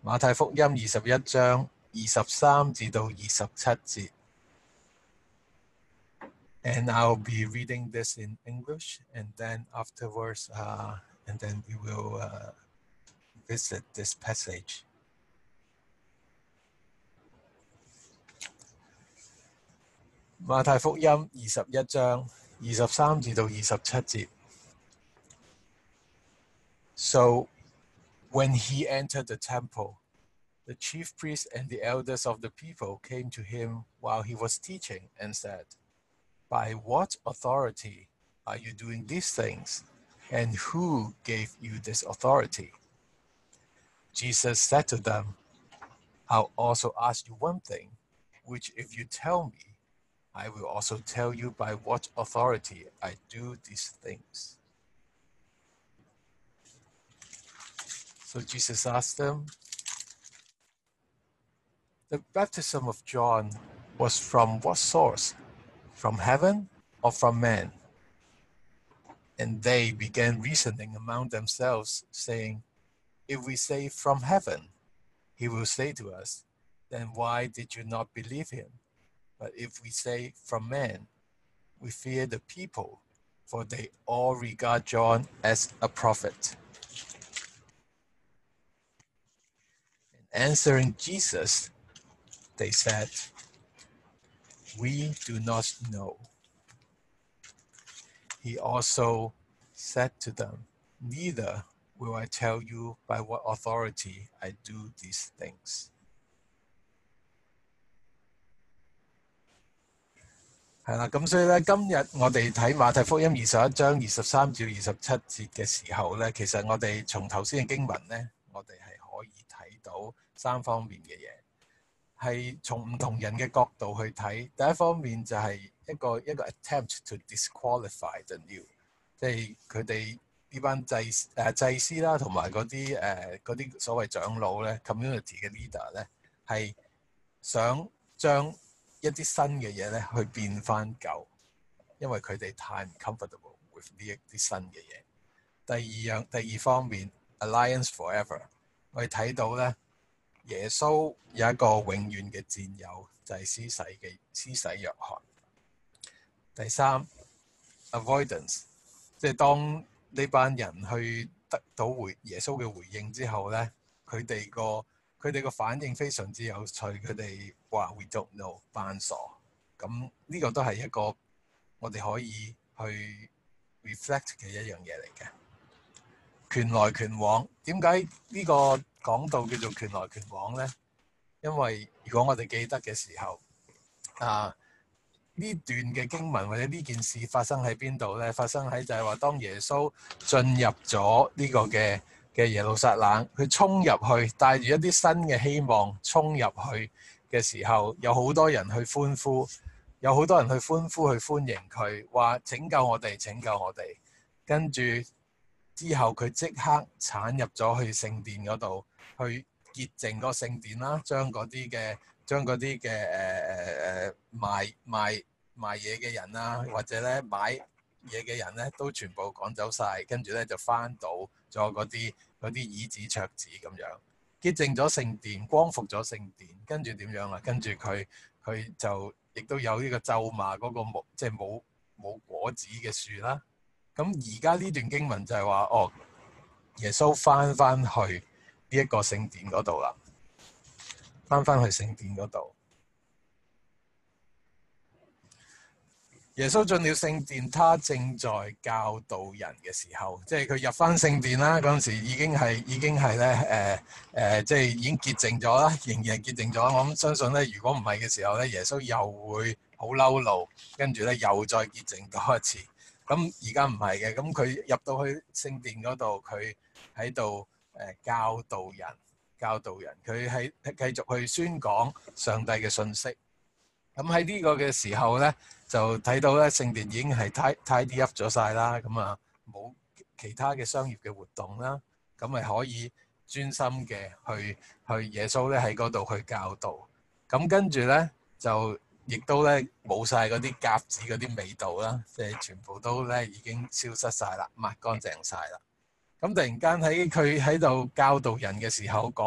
馬太福音21章23至到27節。And I'll be reading this in English, and then afterwards, and then we will visit this passage. 馬太福音21章23至到27節。So, when he entered the temple, the chief priests and the elders of the people came to him while he was teaching and said, "By what authority are you doing these things? And who gave you this authority?" Jesus said to them, "I'll also ask you one thing, which if you tell me, I will also tell you by what authority I do these things." So Jesus asked them, "The baptism of John was from what source? From heaven or from man?" And they began reasoning among themselves, saying, "If we say from heaven, he will say to us, 'Then why did you not believe him?' But if we say from man, we fear the people, for they all regard John as a prophet." And answering Jesus, they said, "We do not know." He also said to them, "Neither will I tell you by what authority I do these things." 係啦，咁所以咧，今日我哋睇馬太福音21章23至27節嘅時候咧，其實我哋從頭先嘅經文咧，我哋係可以睇到三方面嘅嘢，係從唔同人嘅角度去睇。第一方面就係一個 attempt to disqualify the new， 即係佢哋呢班祭司啦，同埋嗰啲所謂長老咧 ，community 嘅 leader 咧，係想將一啲新嘅嘢咧去變翻舊，因為佢哋太唔 comfortable with 呢一啲新嘅嘢。第二方面 Alliance Forever， 我哋睇到咧耶穌有一個永遠嘅戰友，就係施洗約翰。第三 Avoidance， 即係當呢班人去得到耶穌嘅回應之後咧，佢哋個反應非常之有趣，佢哋話 We don't know， 扮傻。咁呢個都係一個我哋可以去 reflect 嘅一樣嘢嚟嘅。拳來拳往，點解呢個講道叫做拳來拳往呢？因為如果我哋記得嘅時候，呢段嘅經文或者呢件事發生喺邊度呢？發生喺就係話當耶穌進入咗呢個嘅耶路撒冷，佢衝入去，帶住一啲新嘅希望衝入去嘅時候，有好多人去歡呼，去歡迎佢，話拯救我哋，拯救我哋。跟住之後佢即刻闖入咗去聖殿嗰度，去潔淨個聖殿啦，將嗰啲嘅賣嘢嘅人啦，或者咧買嘢嘅人咧，都全部趕走晒，跟住咧就翻到咗嗰啲椅子桌子咁樣，潔淨咗聖殿，光復咗聖殿，跟住點樣啦？跟住佢就亦都有呢個咒罵嗰個即係冇果子嘅樹啦。咁而家呢段經文就係話，耶穌翻去呢一個聖殿嗰度啦，翻去聖殿嗰度。耶穌進了聖殿，他正在教導人嘅時候，即係佢入翻聖殿啦。嗰陣時已經係咧即係已經潔淨咗啦，仍然係潔淨咗。我相信咧，如果唔係嘅時候咧，耶穌又會好嬲怒，跟住咧又再潔淨多一次。咁而家唔係嘅，咁佢入到去聖殿嗰度，佢喺度教導人，佢係繼續去宣講上帝嘅信息。咁喺呢個嘅時候咧，就睇到咧聖殿已經係 tidy up 咗晒啦，咁冇其他嘅商業嘅活動啦，咁咪可以專心嘅去耶穌咧喺嗰度去教導。咁跟住咧就亦都咧冇晒嗰啲鴿子嗰啲味道啦，即係全部都咧已經消失晒啦，抹乾淨晒啦。咁突然間喺佢喺度教導人嘅時候，講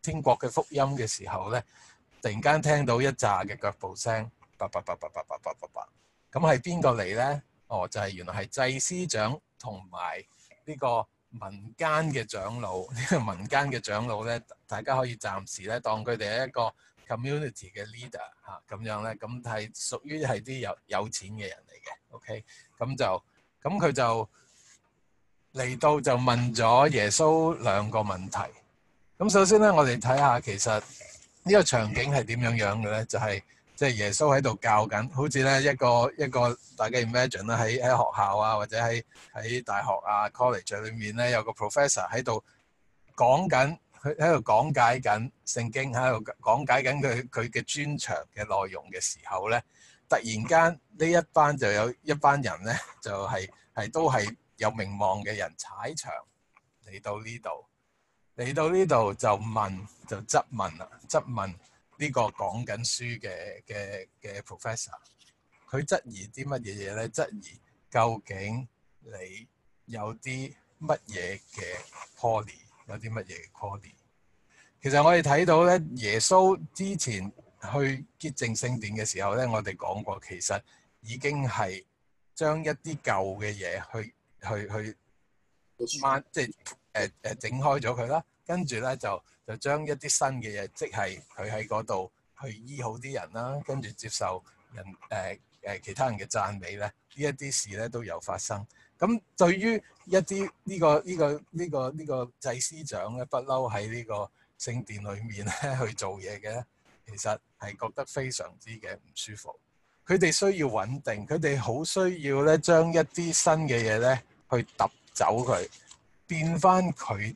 天國嘅福音嘅時候咧，突然間聽到一紮嘅腳步聲，叭叭叭叭叭叭叭叭叭，咁係邊個嚟咧？哦，就係原來係祭司長同埋呢個民間嘅長老。呢個民間嘅長老咧，大家可以暫時咧當佢哋係一個 community 嘅 leader 嚇，咁樣咧，咁係屬於係啲有錢嘅人嚟嘅。OK，咁佢就嚟到就問咗耶穌兩個問題。咁首先咧，我哋睇下其實呢個場景係點樣樣嘅咧？就係即係耶穌喺度教緊，好似咧一個大家 imagine 啦，喺學校啊，或者喺大學啊 college 裏面咧，有個 professor 喺度講緊，佢喺度講解緊聖經，喺度講解緊佢嘅專長嘅內容嘅時候咧，突然間呢一班就有一班人咧，就係都係有名望嘅人踩場嚟到呢度。嚟到呢度就質問啦，質問呢個講緊書嘅 professor， 佢質疑啲乜嘢嘢咧？質疑究竟你有啲乜嘢嘅 calling， 有啲乜嘢嘅 calling？ 其實我哋睇到咧，耶穌之前去潔淨聖殿嘅時候咧，我哋講過，其實已經係將一啲舊嘅嘢去即係整開咗佢啦，跟住咧就將一啲新嘅嘢，即係佢喺嗰度去醫好啲人啦，跟住接受人其他人嘅讚美咧，呢一啲事咧都有發生。咁對於一啲呢個祭司長咧，不嬲喺呢個聖殿裏面咧去做嘢嘅，其實係覺得非常之嘅唔舒服。佢哋需要穩定，佢哋好需要咧將一啲新嘅嘢咧去揼走佢。變翻佢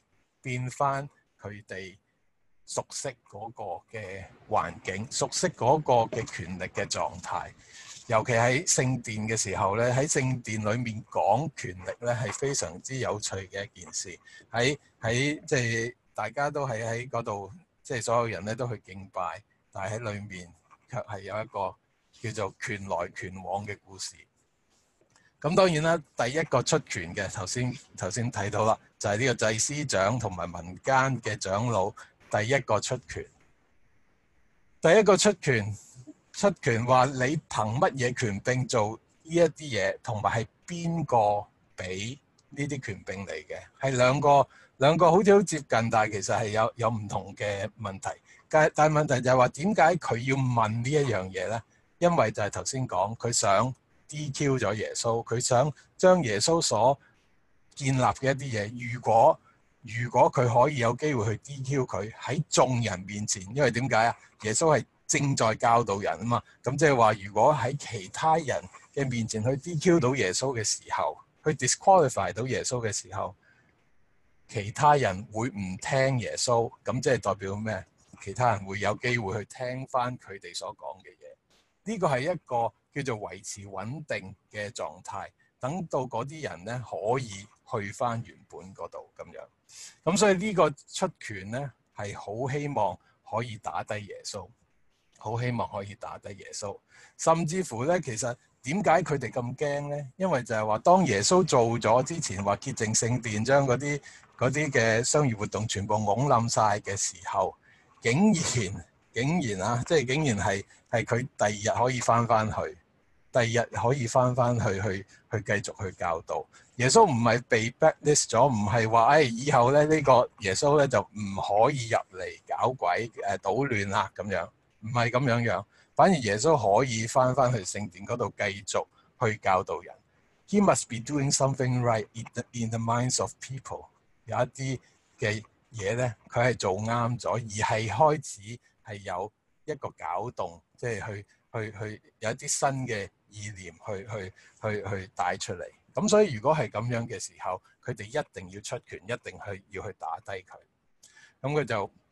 哋熟悉嗰個嘅環境，熟悉嗰個嘅權力嘅狀態。尤其喺聖殿嘅時候咧，喺聖殿裏面講權力咧係非常之有趣嘅一件事。喺即係大家都係喺嗰度，即係所有人咧都去敬拜，但係喺裏面卻係有一個叫做權來權往嘅故事。咁當然啦，第一個出拳嘅頭先睇到啦，就係呢個祭司長同埋民間嘅長老第一個出拳。第一個出拳話你憑乜嘢權柄做呢一啲嘢，同埋係邊個俾呢啲權柄嚟嘅？係兩個好似好接近，但係其實係有唔同嘅問題。但係問題就係話點解佢要問呢一樣嘢咧？因為就係頭先講佢想DQ 咗耶穌，佢想將耶穌所建立嘅一啲嘢，如果佢可以有機會去 DQ 佢喺眾人面前，因為點解啊？耶穌係正在教導人啊嘛，咁即係話如果喺其他人嘅面前去 DQ 到耶穌嘅時候，去 disqualify 到耶穌嘅時候，其他人會唔聽耶穌，咁即係代表咩？其他人會有機會去聽翻佢哋所講嘅嘢。呢個係一個叫做維持穩定嘅狀態，等到嗰啲人咧可以去翻原本嗰度咁樣。咁所以呢個出拳咧係好希望可以打低耶穌，好希望可以打低耶穌。甚至乎咧，其實點解佢哋咁驚咧？因為就係話當耶穌做咗之前話潔淨聖殿，將嗰啲嘅商業活動全部拱冧晒嘅時候，竟然啊，即係竟然係佢第二日可以翻去，第二日可以翻去繼續去教導。耶穌唔係被 blacklist 咗，唔係話以後咧呢個耶穌咧就唔可以入嚟搞鬼搗亂啦咁樣，唔係咁樣，反而耶穌可以翻去聖殿嗰度繼續去教導人。He must be doing something right in the minds of people。有一啲嘅嘢咧，佢係做啱咗，而係開始係有一個攪動，即係去有一啲新嘅意念去帶出嚟。咁所以如果係咁樣嘅時候，佢哋一定要出拳，一定要去打低佢。咁佢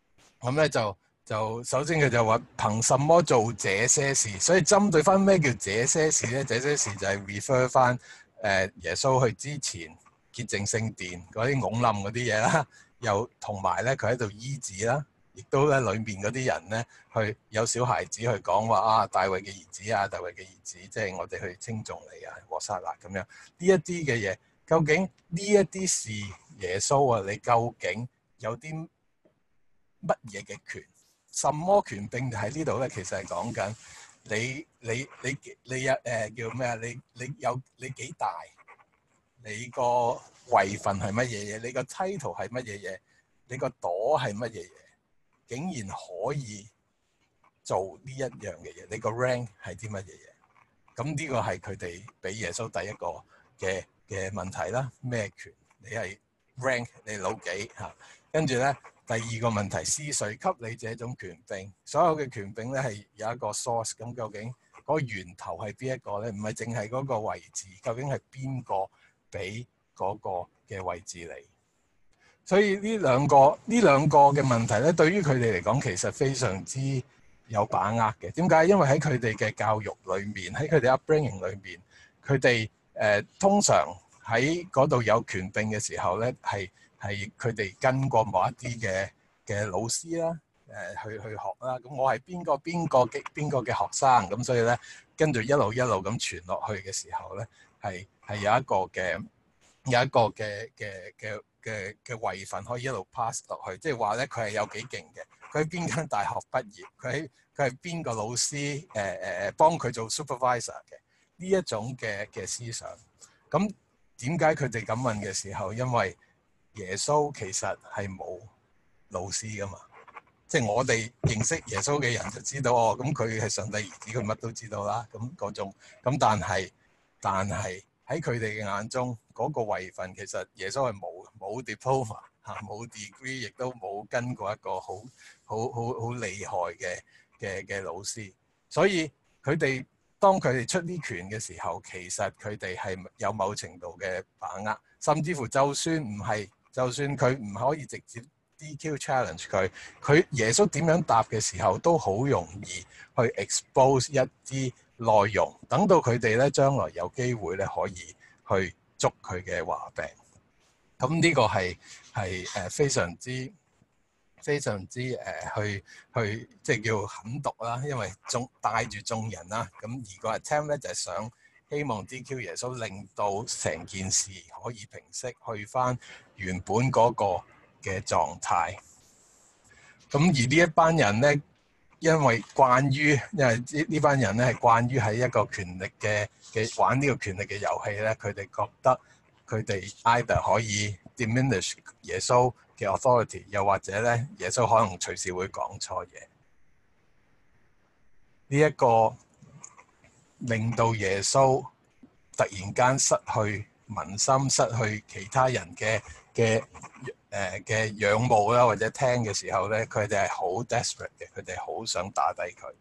就首先佢就話憑什麼做這些事？所以針對翻咩叫這些事咧？這些事就係 refer 翻耶穌去之前潔淨聖殿嗰啲拱冧嗰啲嘢啦，又同埋咧佢喺度醫治啦，亦都咧裏面嗰啲人咧去有小孩子去講話啊，大衛嘅兒子啊，大衛嘅兒子，即係我哋去稱頌你啊，和散那咁樣呢一啲嘅嘢，究竟呢一啲事耶穌啊，你究竟有啲乜嘢嘅權？什麼權柄喺呢度咧？其實係講緊你有叫咩啊？你幾大？你個位份係乜嘢嘢？你個 title 係乜嘢嘢？你個朵係乜嘢嘢？竟然可以做呢一樣嘅嘢？你個 rank 係啲乜嘢嘢？咁呢個係佢哋俾耶穌第一個嘅問題啦。咩權？你係 rank 你老幾嚇？跟住咧，第二個問題，是誰給你這種權柄？所有嘅權柄咧係有一個 source，咁究竟嗰個源頭係邊一個咧？唔係淨係嗰個位置，究竟係邊個俾嗰個嘅位置你？所以呢兩個嘅問題咧，對於佢哋嚟講，其實非常之有把握嘅。點解？因為喺佢哋嘅教育裏面，喺佢哋 upbringing 裏面，佢哋通常喺嗰度有權柄嘅時候咧，係佢哋跟過某一啲嘅老師啦，去學啦。咁我係邊個嘅學生，咁所以咧跟住一路咁傳落去嘅時候咧，係有一個嘅位份可以一路 pass 落去，即係話咧佢係有幾勁嘅，佢喺邊間大學畢業，佢係邊個老師幫佢做 supervisor 嘅呢一種嘅思想。咁點解佢哋咁問嘅時候？因為耶穌其實係冇老師噶嘛，即係我哋認識耶穌嘅人就知道哦，咁佢係上帝兒子，佢乜都知道啦。咁嗰種咁，但係喺佢哋嘅眼中，嗰個位份其實耶穌係冇 diploma 嚇，冇 degree，亦都冇跟過一個好厲害嘅老師。所以當佢哋出啲拳嘅時候，其實佢哋係有某程度嘅把握，甚至乎就算佢唔可以直接 DQ challenge 佢耶穌點樣答嘅時候，都好容易去 expose 一啲內容，等到佢哋咧將來有機會咧可以去捉佢嘅話柄。咁呢個係非常之去即係叫狠毒啦，因為帶住眾人啦。咁而個 attempt 咧就係想希望 DQ 耶穌，令到成件事可以平息，去翻原本嗰個嘅狀態。咁而呢一班人咧，因為呢班人咧係慣於喺一個權力嘅玩呢個權力嘅遊戲咧，佢哋覺得佢哋 either 可以 diminish 耶穌嘅 authority， 又或者咧耶穌可能隨時會講錯嘢。呢一個令到耶穌突然間失去民心，失去其他人嘅仰慕啦，或者聽嘅時候咧，佢哋係好 desperate 嘅，佢哋好想打低佢。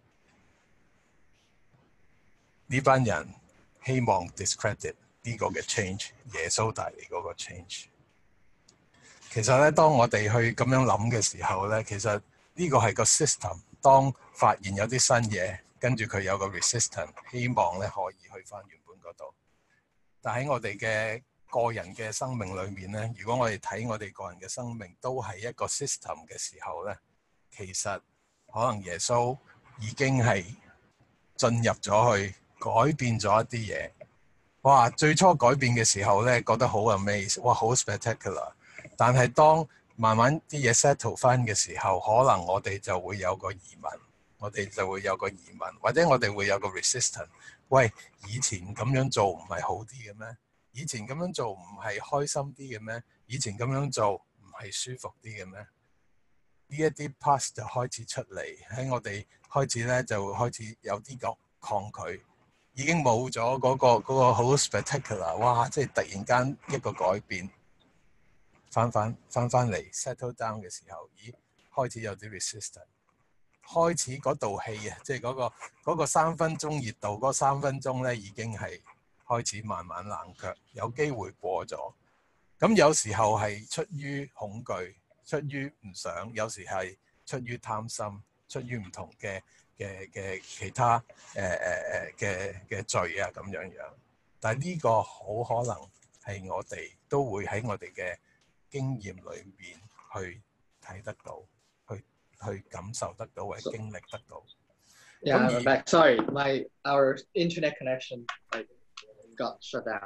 呢班人希望 discredit 呢個嘅 change， 耶穌帶嚟嗰個 change。其實咧，當我哋去咁樣諗嘅時候咧，其實呢個係個 system。當發現有啲新嘢，跟住佢有個 resistance， 希望咧可以去翻原本嗰度。但喺我哋嘅個人嘅生命裏面咧，如果我哋睇我哋個人嘅生命都係一個 system 嘅時候咧，其實可能耶穌已經係進入咗去改變咗一啲嘢。哇！最初改變嘅時候咧，覺得好 amaze， 哇，好 spectacular。但係當慢慢啲嘢 settle 翻嘅時候，可能我哋就會有個疑問，或者我哋會有個 resistance。喂，以前咁樣做唔係好啲嘅咩？以前咁樣做唔係開心啲嘅咩？以前咁樣做唔係舒服啲嘅咩？呢一啲 past 就開始出嚟，喺我哋開始咧就開始有啲個抗拒，已經冇咗嗰個好 spectacular， 哇！即係突然間一個改變，翻嚟 settle down 嘅時候，咦，開始有啲 resistance， 開始嗰道氣啊，即係嗰個3分鐘熱度，嗰3分鐘咧已經係開始慢慢冷卻，有機會過咗。咁有時候係出於恐懼，出於唔想，有時係出於貪心，出於唔同嘅其他嘅罪啊咁樣。但係呢個好可能係我哋都會喺我哋嘅經驗裏面去睇得到，去感受得到或者經歷得到。 Yeah, I'm back. Sorry, our internet connection got shut down.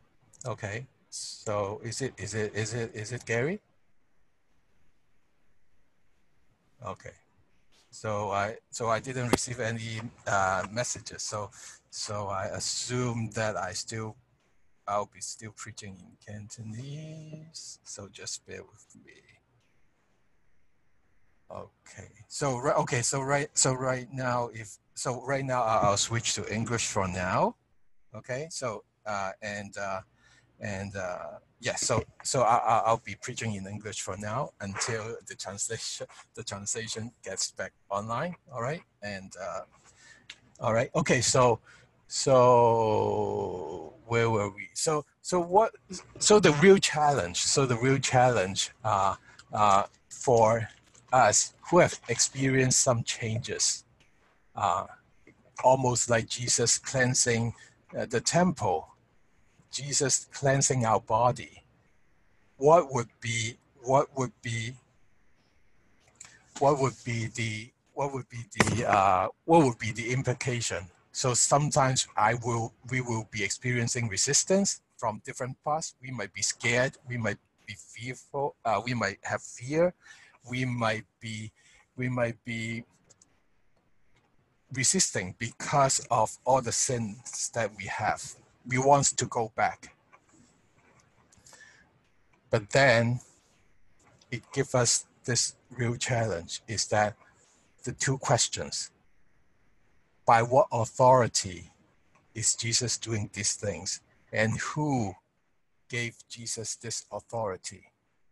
Okay, so is it Gary? Okay. So I didn't receive any messages. So I assume that I'll be still preaching in Cantonese. So just bear with me. Okay. So right now I'll switch to English for now. Okay. So I'll be preaching in English for now until the translation gets back online. All right. And all right. Okay. So where were we? So the real challenge. So the real challenge for us who have experienced some changes, almost like Jesus cleansing the temple, Jesus cleansing our body. What would be the implication? So sometimes we will be experiencing resistance from different parts. We might be scared. We might be fearful. We might have fear. We might be resisting because of all the sins that we have. We want to go back. But then it gives us this real challenge, is that the two questions. By what authority is Jesus doing these things? And who gave Jesus this authority?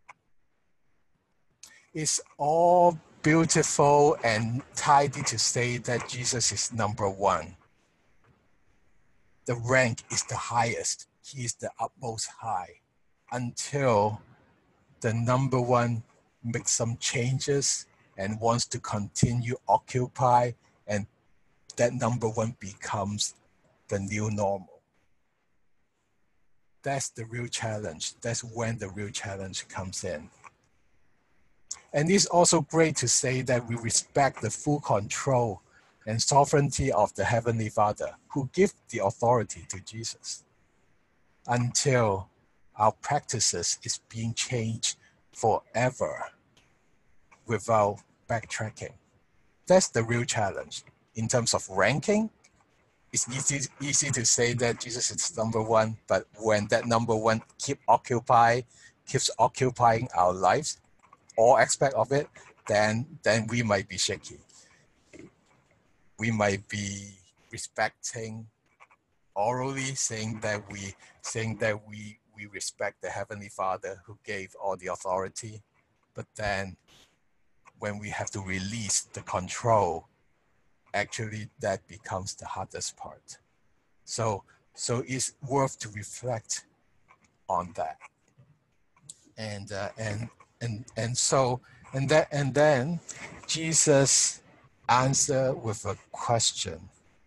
It's all beautiful and tidy to say that Jesus is number one. The rank is the highest. He is the utmost high. Until the number one makes some changes and wants to continue occupy, and that number one becomes the new normal. That's the real challenge. That's when the real challenge comes in. And it's also great to say that we respect the full control and sovereignty of the Heavenly Father, who gave the authority to Jesus, until our practices is being changed forever without backtracking. That's the real challenge. In terms of ranking, it's easy to say that Jesus is number one, but when that number one keeps occupying our lives, all aspect of it, then we might be shaky. We might be respecting orally, saying that we respect the Heavenly Father who gave all the authority, but then when we have to release the control, actually that becomes the hardest part. So it's worth to reflect on that. And then Jesus answered with a question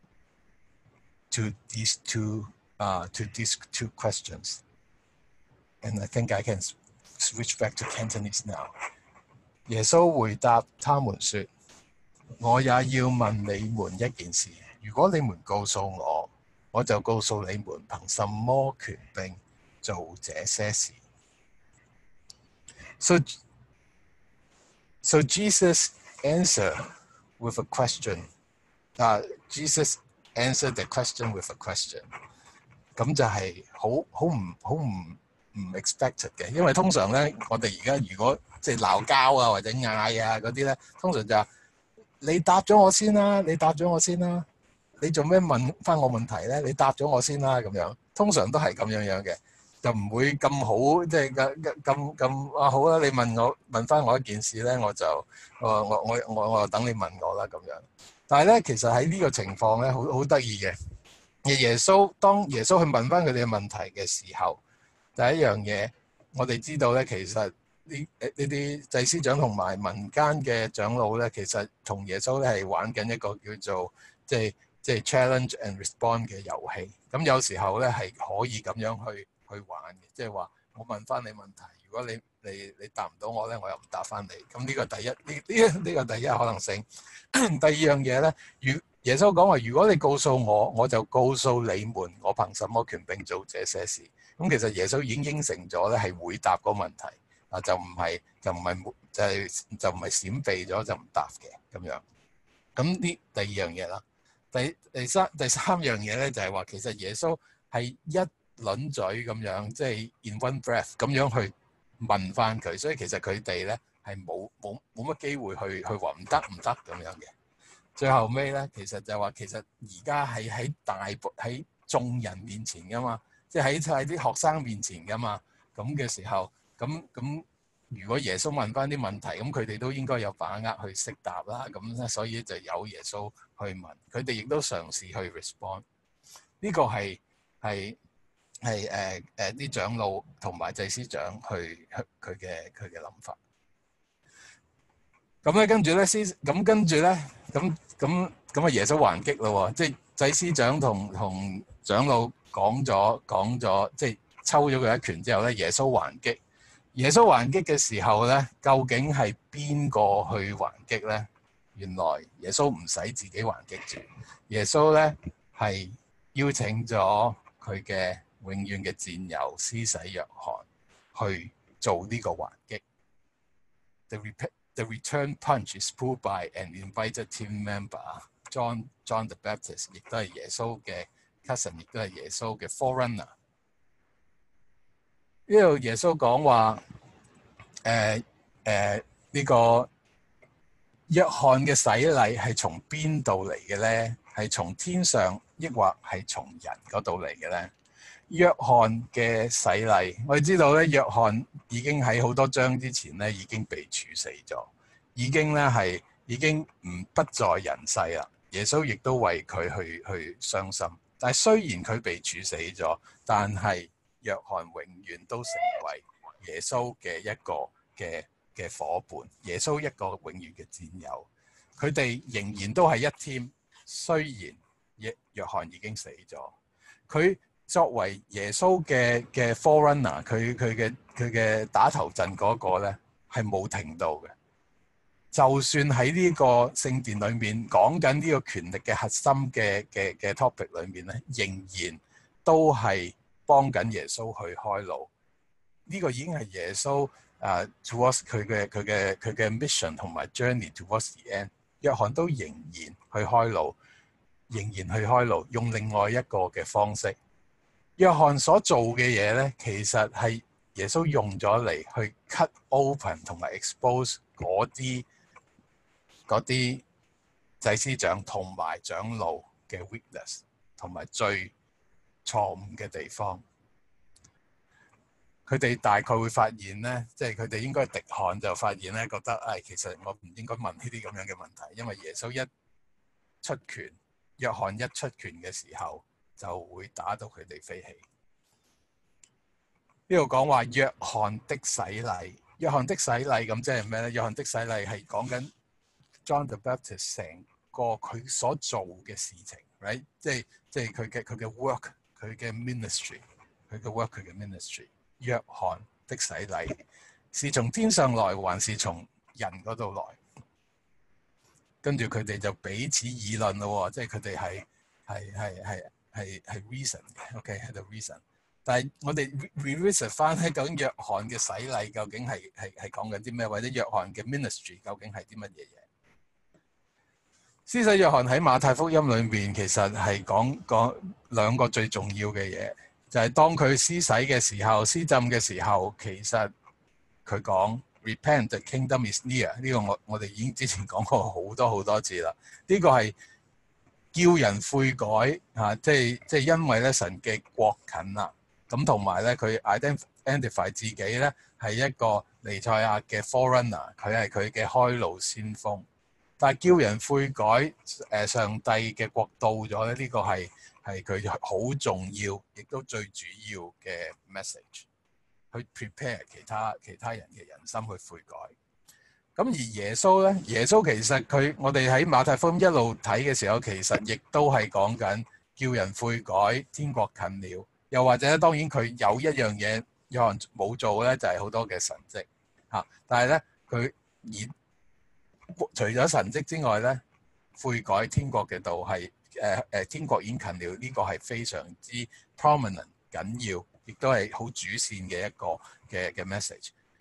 to these two questions. And I think I can switch back to Cantonese now. 耶穌回答他們說：我也要問你們一件事，如果你們告訴我，我就告訴你們憑什麼權柄做這些事。So Jesus answered with a question. Jesus answered the question with a question. 咁就係好唔 expected 嘅，因為通常咧，我哋而家如果即係鬧交啊或者嗌啊嗰啲咧，通常就你答咗我先啦，你答咗我先啦，你做咩問翻我問題咧？你答咗我先啦咁樣，通常都係咁樣嘅，就唔會咁好，即係咁啊好啦，你問翻我一件事咧，我就我等你問我啦咁樣。但係咧，其實喺呢個情況咧，好得意嘅。當耶穌去問翻佢哋嘅問題嘅時候，第一樣嘢我哋知道咧，其實呢啲祭司長同埋民間嘅長老咧，其實同耶穌咧係玩緊一個叫做即係 challenge and respond 嘅遊戲。咁有時候咧係可以咁樣去玩嘅，即係話我問翻你問題，如果你答唔到我咧，我又唔答翻你。咁呢個第一，呢個第一可能性。第二樣嘢咧，耶穌講話：如果你告訴我，我就告訴你們，我憑什麼權柄做這些事？咁其實耶穌已經應承咗咧，係回答個問題。 就唔係閃避咗就唔答嘅咁樣。咁呢第二樣嘢啦，第三樣嘢咧就係話其實耶穌係一輪嘴咁樣，即係 in one breath 咁樣去問翻佢，所以其實佢哋咧係冇乜機會去話唔得咁樣嘅。最後尾咧，其實就話其實而家係喺眾人面前噶嘛，即係喺啲學生面前噶嘛。咁嘅時候，咁如果耶穌問翻啲問題，咁佢哋都應該有把握去識答啦。咁所以就有耶穌去問，佢哋亦都嘗試去 respond。呢個係啲長老同埋祭司長佢嘅諗法。咁咧跟住咧咁耶穌還擊咯喎，即係祭司長同長老講咗，即係抽咗佢一拳之後咧，耶穌還擊。耶穌還擊嘅時候咧，究竟係邊個去還擊咧？原來耶穌唔使自己還擊住，耶穌咧係邀請咗佢嘅永遠嘅戰友施洗約翰去做呢個還擊。The return punch is pulled by an invited team member, John the Baptist， 亦都係耶穌嘅 cousin， 亦都係耶穌嘅 forerunner。呢度耶穌講話，呢個約翰嘅洗禮係從邊度嚟嘅咧？係從天上，抑或係從人嗰度嚟嘅咧？約翰嘅洗禮，我哋知道咧，約翰已經喺好多章之前咧已經被處死咗，已經不在人世啦。耶穌亦都為佢去傷心。但係雖然佢被處死咗，但係約翰永遠都成為耶穌嘅一個嘅夥伴，耶穌一個永遠嘅戰友。佢哋仍然都係一 team，雖然約翰已經死咗，佢作為耶穌嘅 forerunner， 佢嘅打頭陣嗰個咧係冇停到嘅。就算喺呢個聖殿裏面講緊呢個權力嘅核心嘅 topic 裏面咧，仍然都係幫緊耶穌去開路。呢個已經係耶穌towards 佢嘅 mission 同埋 journey towards the end。約翰都仍然去開路，用另外一個嘅方式。約翰所做嘅嘢咧，其實係耶穌用咗嚟去 cut open 同埋 expose 嗰啲祭司長同埋長老嘅 weakness 同埋最錯誤嘅地方。佢哋大概會發現咧，即係佢哋應該滴汗就發現咧，覺得其實我唔應該問呢啲咁樣嘅問題，因為耶穌一出拳，約翰一出拳嘅時候就會打到佢哋飛起。呢度講話約翰的洗禮，約翰的洗禮咁即係咩咧？約翰的洗禮係講緊 John the Baptist 成個佢所做嘅事情 ，right？ 即係佢嘅 work， 佢嘅 ministry， 佢嘅 work， 佢嘅 ministry。約翰的洗禮是從天上來，還是從人嗰度來？跟住佢哋就彼此議論咯，即係佢哋係 reason 嘅 ，OK 係 the reason。但係我哋 revisit 翻咧，究竟約翰嘅洗禮究竟係講緊啲咩？或者約翰嘅 ministry 究竟係啲乜嘢嘢？施洗約翰喺馬太福音裏面其實係講兩個最重要嘅嘢，就係當佢施洗嘅時候、施浸嘅時候，其實佢講 Repent, the kingdom is near。呢個我哋已經之前講過好多次啦。呢個係叫人悔改嚇，即係因為咧神嘅國近啦。咁同埋咧，佢 identify 自己咧係一個彌賽亞嘅 forerunner， 佢係佢嘅開路先鋒。但係叫人悔改，上帝嘅國到咗咧，呢個係佢好重要，亦都最主要嘅 message， 去 prepare 其他人嘅人心去悔改。咁而耶穌咧，耶穌其實我哋喺馬太福音一路睇嘅時候，其實亦都係講緊叫人悔改，天國近了。又或者當然佢有一樣嘢約翰冇做咧，就係好多嘅神蹟嚇。但係咧佢除咗神蹟之外咧，悔改天國嘅道係天國已經近了，呢個係非常之 prominent 緊要，亦都係好主線嘅一個嘅 message。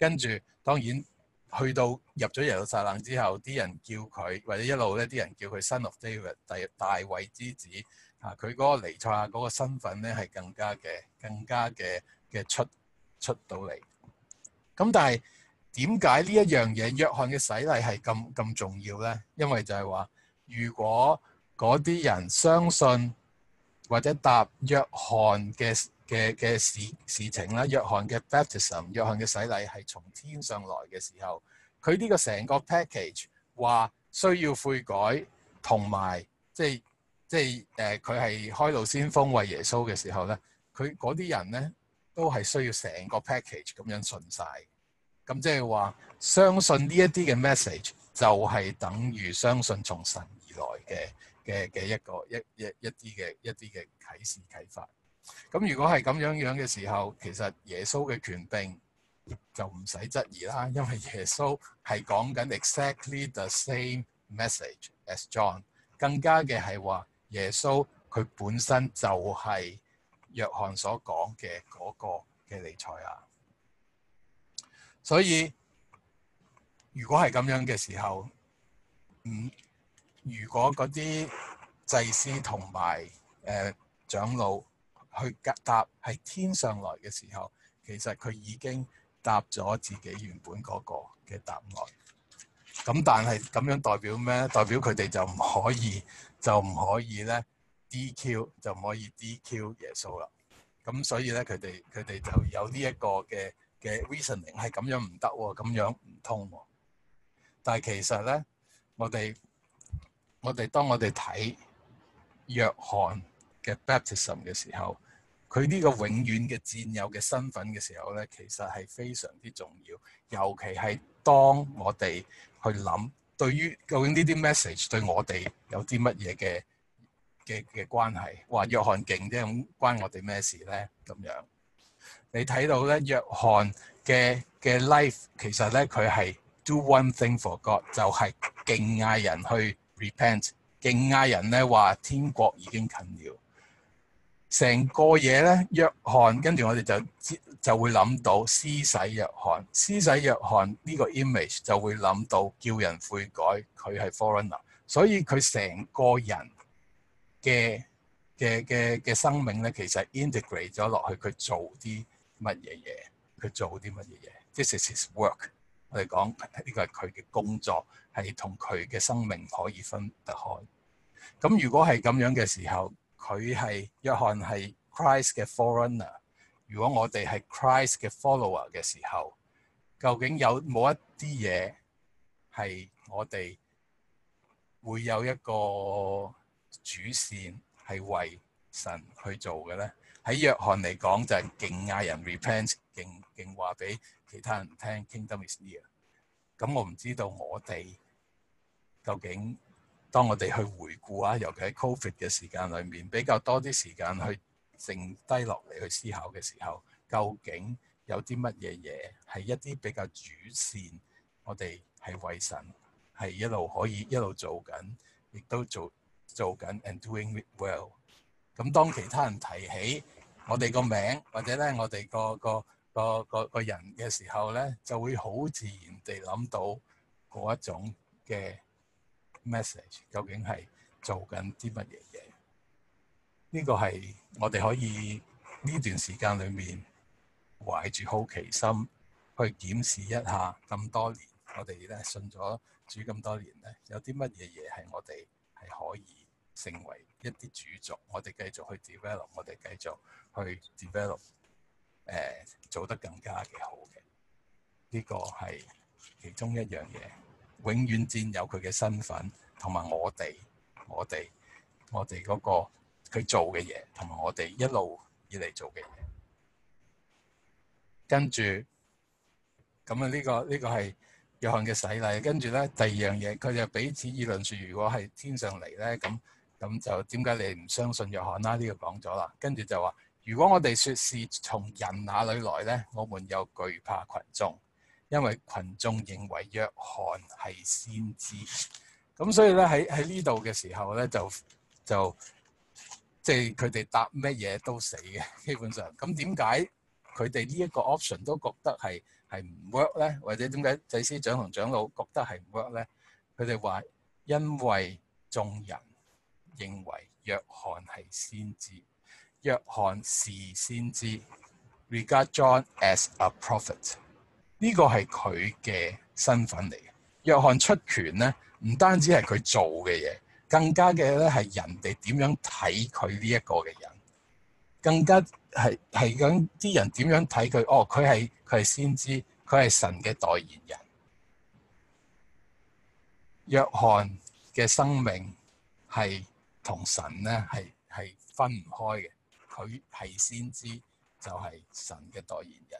跟住當然去到入咗耶路撒冷之後，啲人叫佢或者一路咧啲人叫佢 Son of David 大衛之子啊，佢嗰個彌賽亞嗰個身份咧係更加嘅出到嚟。咁但係點解呢一樣嘢約翰嘅洗禮係咁重要咧？因為就係話，如果嗰啲人相信或者答約翰嘅事情啦，約翰嘅 baptism， 約翰嘅洗禮係從天上來嘅時候，佢呢個成個 package 話需要悔改，同埋即係佢係開路先鋒為耶穌嘅時候咧，佢嗰啲人咧都係需要成個 package 咁樣信晒。咁即係話相信呢一啲嘅 message 就係等於相信從神而來嘅一啲嘅啟示啟發。咁如果係咁樣嘅時候，其實耶穌嘅權柄就唔使質疑啦，因為耶穌係講緊 exactly the same message as John， 更加嘅係話耶穌佢本身就係約翰所講嘅嗰個嘅彌賽亞。所以如果係咁樣嘅時候，如果嗰啲祭司同埋長老去答係天上來嘅時候，其實佢已經答咗自己原本嗰個嘅答案。咁但係咁樣代表咩？代表佢哋就唔可以咧 DQ， 就唔可以 DQ 耶穌啦。咁所以咧佢哋就有呢一個嘅 reasoning 係咁樣唔得喎，咁樣唔通喎。但係其實咧，當我哋睇約翰嘅 baptism 嘅時候，佢呢個永遠嘅戰友嘅身份嘅時候咧，其實係非常之重要。尤其係當我哋去諗，對於究竟呢啲 message 對我哋有啲乜嘢嘅關係？話約翰勁啫，咁關我哋咩事咧？咁樣你睇到咧，約翰嘅 life 其實咧佢係 do one thing for God， 就係勁嗌人去 repent， 勁嗌人咧話天國已經近了。成個嘢咧，約翰跟住我哋就會諗到施洗約翰，施洗約翰呢個 image 就會諗到叫人悔改，佢係 foreigner， 所以佢成個人嘅生命咧，其實 integrate 咗落去，佢做啲乜嘢嘢，佢做啲乜嘢嘢。This is his work。我哋講呢個係佢嘅工作，係同佢嘅生命可以分得開。咁如果係咁樣嘅時候，佢係約翰係 Christ 嘅 forerunner。如果我哋係 Christ 嘅 follower 嘅時候，究竟有冇一啲嘢係我哋會有一個主線係為神去做嘅咧？喺約翰嚟講就係勁嗌人 repent， 勁話俾其他人聽 Kingdom is near。咁我唔知道我哋究竟當我哋去回顧啊，尤其喺 Covid 嘅時間裏面，比較多啲時間去靜低落嚟去思考嘅時候，究竟有啲乜嘢嘢係一啲比較主線，我哋係為神係一路可以一路做緊，亦都做緊 and doing it well。咁當其他人提起我哋個名或者咧我哋個人嘅時候咧，就會好自然地諗到嗰一種嘅 message 究竟係做緊啲乜嘢嘢？呢個係我哋可以呢段時間裏面懷住好奇心去檢視一下咁多年，我哋咧信咗主咁多年咧，有啲乜嘢嘢係我哋係可以成為一啲主軸，我哋繼續去 develop， 我哋繼續去 develop，做得更加嘅好嘅。呢個係其中一樣嘢。永遠佔有佢嘅身份，同埋我哋嗰個佢做嘅嘢，同埋我哋一路以嚟做嘅嘢。跟住咁啊，呢個係約翰嘅洗禮。跟住咧，第二樣嘢，佢就彼此議論說，如果係天上嚟咧，咁就點解你唔相信約翰啦？呢個講咗啦。跟住就話，如果我哋說是從人那裏來咧，我們又懼怕群眾。因為群眾認為約翰係先知，咁所以咧喺呢度嘅時候咧就即係佢哋答乜嘢都死嘅基本上。咁點解佢哋呢一個 option 都覺得係係唔 work 咧？或者點解祭司長同長老覺得係唔 work 咧？佢哋話因為眾人認為約翰係先知，約翰是先知 ，regard John as a prophet。呢個係佢嘅身份嚟嘅。約翰出拳咧，唔單止係佢做嘅嘢，更加嘅咧係人哋點樣睇佢呢一個嘅人，更加係咁啲人點樣睇佢？哦，佢係先知，佢係神嘅代言人。約翰嘅生命係同神咧係分唔開嘅，佢係先知就係神嘅代言人。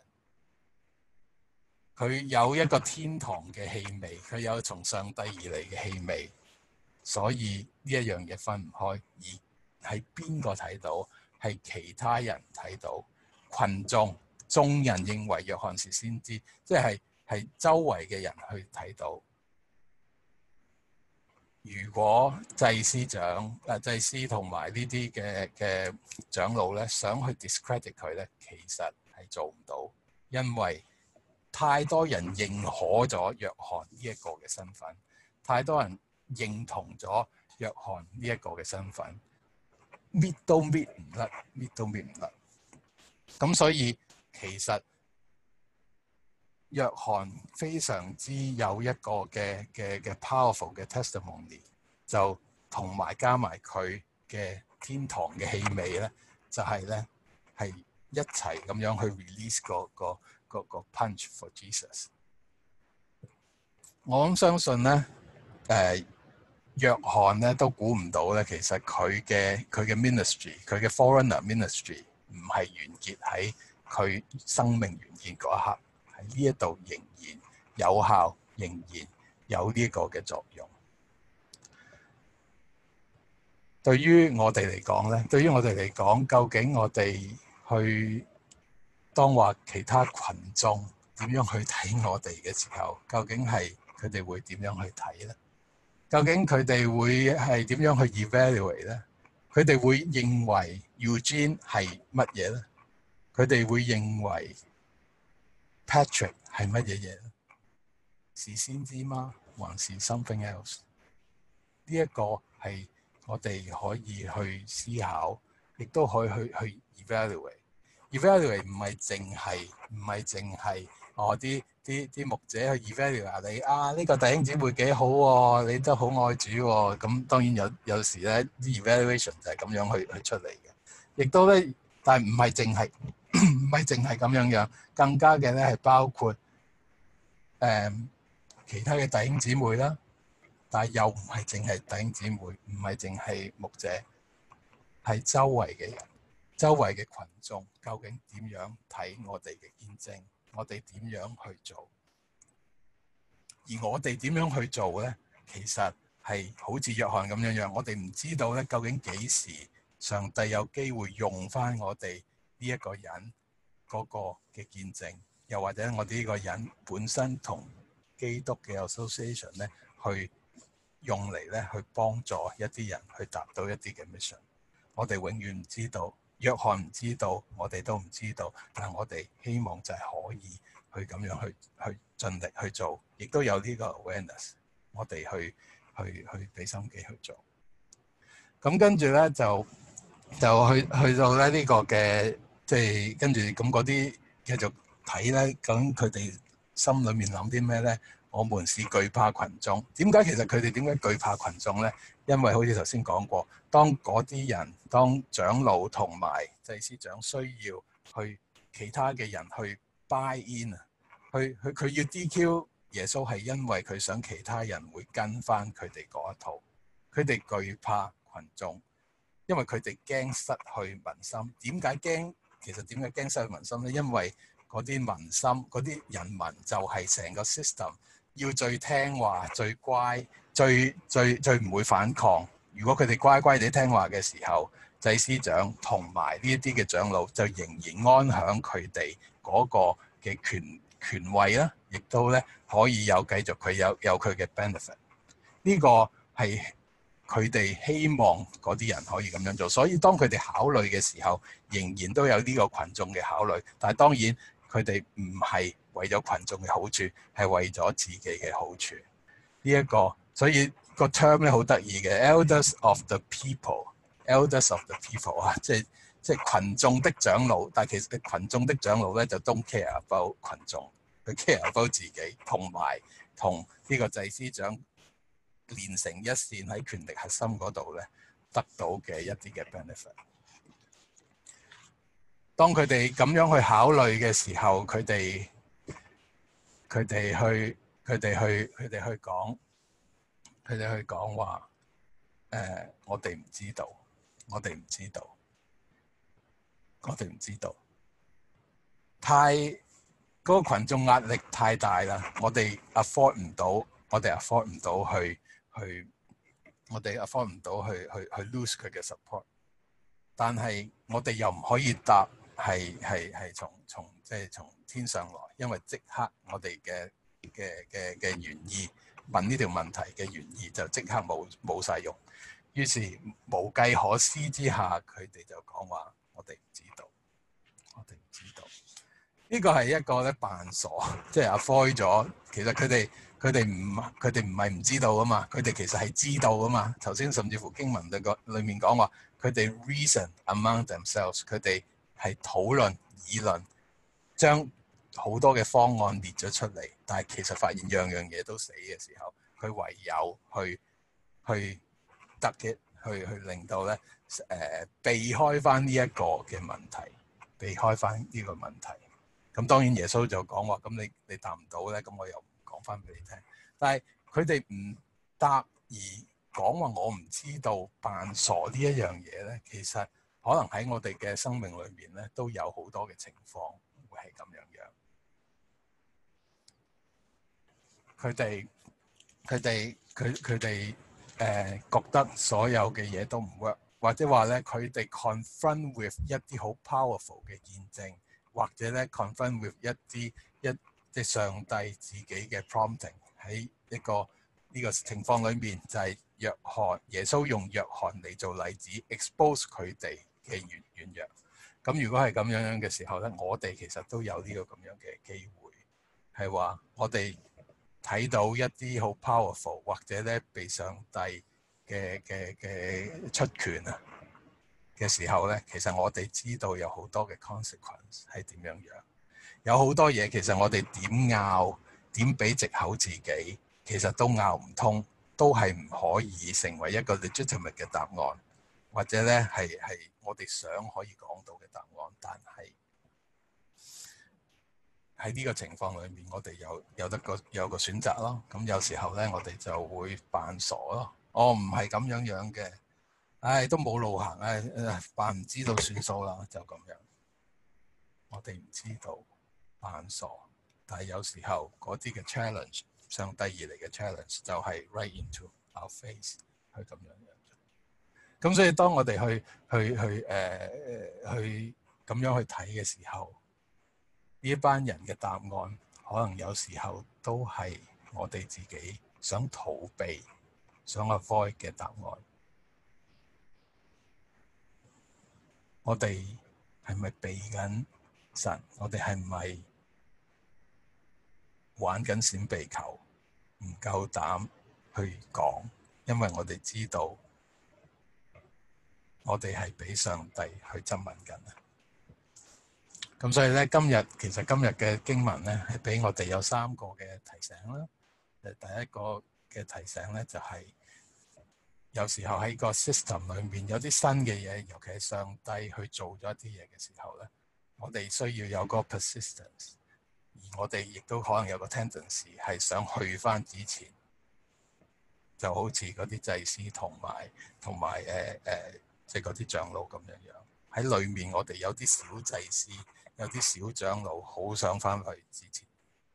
佢有一個天堂嘅氣味，佢有從上帝而嚟嘅氣味，所以呢一樣嘢分唔開。而係邊個睇到？係其他人睇到，群眾人認為約翰是先知，即係周圍嘅人去睇到。如果祭司同埋呢啲嘅長老咧，想去 discredit 佢咧，其實係做唔到，因為太多人認可咗約翰呢一個嘅身份，太多人認同咗約翰呢一個嘅身份，搣都搣唔甩。咁所以其實約翰非常之有一個嘅 powerful 嘅 testimony， 就同埋加埋佢嘅天堂嘅氣味咧，就係咧係一齊咁樣去 release 個 punch for Jesus。我咁相信咧，約翰咧都估唔到咧，其實佢嘅 ministry， 佢嘅 foreigner ministry 唔係完結喺佢生命完結嗰一刻，喺呢一度仍然有效，仍然有呢個嘅作用。對於我哋嚟講，究竟我哋去當話其他群眾點樣去睇我哋嘅時候，究竟係佢哋會點樣去睇咧？究竟佢哋會係點樣去 evaluate 咧？佢哋會認為 Eugene 係乜嘢咧？佢哋會認為 Patrick 係乜嘢嘢咧？是先知嗎？還是 something else？ 呢一個係我哋可以去思考，亦都可以去 evaluate。evaluate 唔係淨係啲牧者去 evaluate 你啊，呢個弟兄姊妹幾好喎，你都好愛主喎。咁當然有時咧啲 evaluation 就係咁樣去出嚟嘅，亦都咧，但係唔係淨係咁樣，更加嘅咧係包括其他嘅弟兄姊妹啦。但係又唔係淨係弟兄姊妹，唔係淨係牧者，係周圍嘅人、周圍嘅群眾，究竟點樣睇我哋嘅見證？我哋點樣去做？而我哋點樣去做呢？其實係好似約翰咁樣，我哋唔知道咧，究竟幾時上帝有機會用翻我哋呢一個人嗰個嘅見證，又或者我哋呢個人本身同基督嘅 association 咧，去用嚟咧去幫助一啲人去達到一啲嘅 mission。我哋永遠唔知道，約翰唔知道，我哋都唔知道，但係我哋希望就係可以去咁樣去盡力去做，亦都有呢個 awareness， 我哋去俾心機去做。咁跟住咧就去到咧呢個嘅，即係跟住咁嗰啲繼續睇咧，究竟佢哋心裏面諗啲咩咧？我們是懼怕群眾。點解其實佢哋點解懼怕群眾咧？因為好似頭先講過，當嗰啲人，當長老同埋祭司長需要去其他嘅人去 buy in 啊，佢要 DQ 耶穌係因為佢想其他人會跟翻佢哋嗰一套。佢哋懼怕群眾，因為佢哋驚失去民心。點解驚？其實點解驚失去民心咧？因為嗰啲民心，嗰啲人民就係成個 system。要最聽話、最乖、最唔會反抗。如果佢哋乖乖地聽話嘅時候，祭司長同埋呢一啲嘅長老就仍然安享佢哋嗰個嘅權位啦，亦都咧可以繼續佢有佢嘅 benefit。呢個係佢哋希望嗰啲人可以咁樣做，所以當佢哋考慮嘅時候，仍然都有呢個群眾嘅考慮。但係當然佢哋唔係為咗群眾嘅好處，係為咗自己嘅好處。呢個所以個 term 咧好得意嘅 ，elders of the people，elders of the people 啊，即係群眾的長老。但係其實群眾的長老咧就 don't care about 群眾，佢 care about 自己，同埋同呢個祭司長連成一線喺權力核心嗰度咧得到嘅一啲嘅 benefit。當佢哋咁樣去考慮嘅時候，佢哋去講話我哋唔知道，太嗰個群眾壓力太大啦，我哋 afford 唔到去 lose 佢嘅 support， 但係我哋又唔可以答係從天上來，因為即刻我哋嘅原意問呢條問題嘅原意就即刻冇晒用，於是無計可施之下，佢哋就講話我哋唔知道。呢個係一個咧扮傻，即係 avoid 咗。其實佢哋唔係唔知道啊嘛，佢哋其實係知道啊嘛。頭先甚至乎經文裏面講話，佢哋 reason among themselves， 佢哋係討論議論，將好多嘅方案列咗出嚟，但係其實發現樣樣嘢都死嘅時候，佢唯有去得嘅去令到咧避開翻呢一個嘅問題，避開翻呢個問題。咁當然耶穌就講話，咁你答唔到咧，咁我又講翻俾你聽。但係佢哋唔答而講話我唔知道扮傻呢一樣嘢咧，其實可能喺我哋嘅生命裏面咧都有好多嘅情況會係咁樣樣。佢哋覺得所有嘅嘢都唔 work， 或者話咧佢哋 confront with 一啲好 powerful 嘅見證。或者咧 confront with 一啲上帝自己嘅 prompting 喺呢個情況裏面，就係耶穌用約翰嚟做例子 expose 佢哋嘅軟弱。咁如果係咁樣嘅時候咧，我哋其實都有呢個咁樣嘅機會，係話我哋睇到一啲好 powerful 或者咧被上帝嘅出權啊嘅時候咧，其實我哋知道有好多嘅 consequence 係點樣樣，有好多嘢其實我哋點拗點俾藉口自己，其實都拗唔通，都係唔可以成為一個 legitimate 嘅答案，或者咧係我哋想可以講到嘅答案，但係喺呢個情況裏面，我哋有個選擇咯。咁有時候咧，我哋就會扮傻咯。我唔係咁樣樣嘅。都冇路行，扮唔知道算數啦，就咁樣。我哋唔知道，扮傻，但係有時候嗰啲嘅 challenge， 上帝而嚟嘅 challenge 就係 right into our face， 去咁樣樣。咁所以當我哋去咁樣去睇嘅時候，呢一班人嘅答案，可能有時候都係我哋自己想逃避、想 avoid 嘅答案。我哋係咪避緊神？我哋係咪玩緊閃避球？唔夠膽去講，因為我哋知道我哋係俾上帝去質問緊啊！咁所以咧，今日嘅經文咧，係俾我哋有3個嘅提醒啦。第一個嘅提醒咧，就係有時候喺個 system 裏面有啲新嘅嘢，尤其係上帝去做咗一啲嘢嘅時候咧，我哋需要有個 persistence， 而我哋亦都可能有個 tendency 係想去返之前，就好似嗰啲祭司同埋即係嗰啲長老咁樣樣。喺裏面我哋有啲小祭司，有啲小長老，好想返去之前，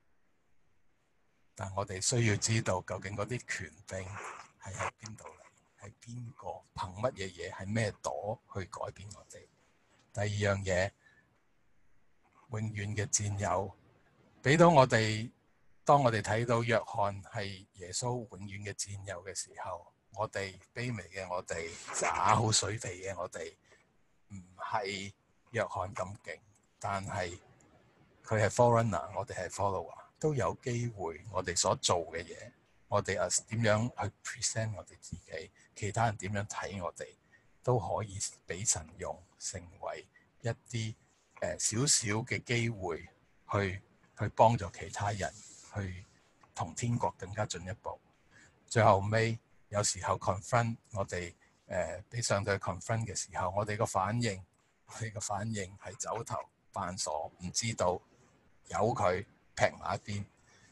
但我哋需要知道究竟嗰啲權柄係喺邊度嚟？係邊個憑乜嘢嘢？係咩朵去改變我哋？第二樣嘢，永遠嘅戰友俾到我哋。當我哋睇到約翰係耶穌永遠嘅戰友嘅時候，我哋卑微嘅我哋，渣好水肥嘅我哋，唔係約翰咁勁，但係佢係 forerunner，我哋係 follower，都有機會我哋所做嘅嘢，我哋點樣去 present 我哋自己，其他人點樣睇我哋，都可以俾神用，成為一啲少少嘅機會去幫助其他人，去同天國更加進一步。最後尾有時候 confront 我哋俾上帝 confront 嘅時候，我哋個反應係走頭扮傻，唔知道，由佢劈埋一邊。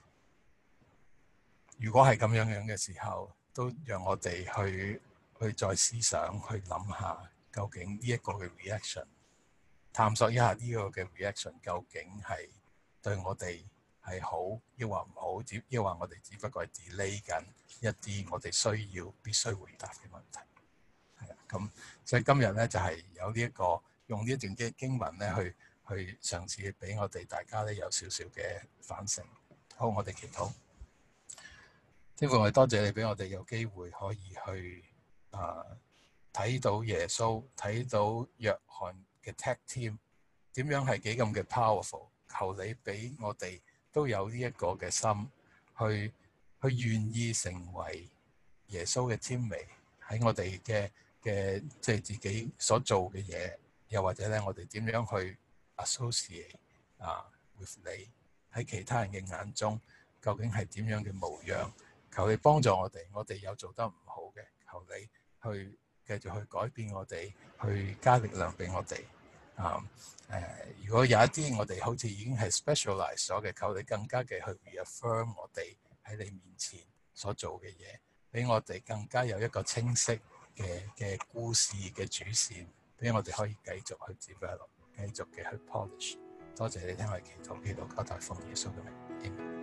如果係咁樣嘅時候，都讓我哋去再思想，去諗下究竟呢一個嘅 reaction， 探索一下呢個嘅 reaction 究竟係對我哋係好，抑或唔好，抑或我哋只不過係 delay 緊一啲我哋必須回答嘅問題。係啊，咁所以今日咧就係有呢一個用呢一段經文咧去嘗試俾我哋大家咧有少少嘅反省。好，我哋祈禱。天父，我哋多謝你俾我哋有機會可以去睇到耶穌，睇到約翰嘅 tag team 點樣係幾咁嘅 powerful。求你俾我哋都有呢一個嘅心，去願意成為耶穌嘅 teammate，喺我哋嘅即係自己所做嘅嘢，又或者咧我哋點樣去 associate with 你喺其他人嘅眼中，究竟係點樣嘅模樣？求你幫助我哋有做得唔好嘅，求你去繼續去改變我哋，去加力量俾我哋。如果有一啲我哋好似已經係 specialize 咗嘅，求你更加嘅去 reaffirm 我哋喺你面前所做嘅嘢，俾我哋更加有一個清晰嘅故事嘅主線，俾我哋可以繼續去 develop，繼續嘅去 polish。多謝你聽我哋祈禱，求大奉耶穌嘅名。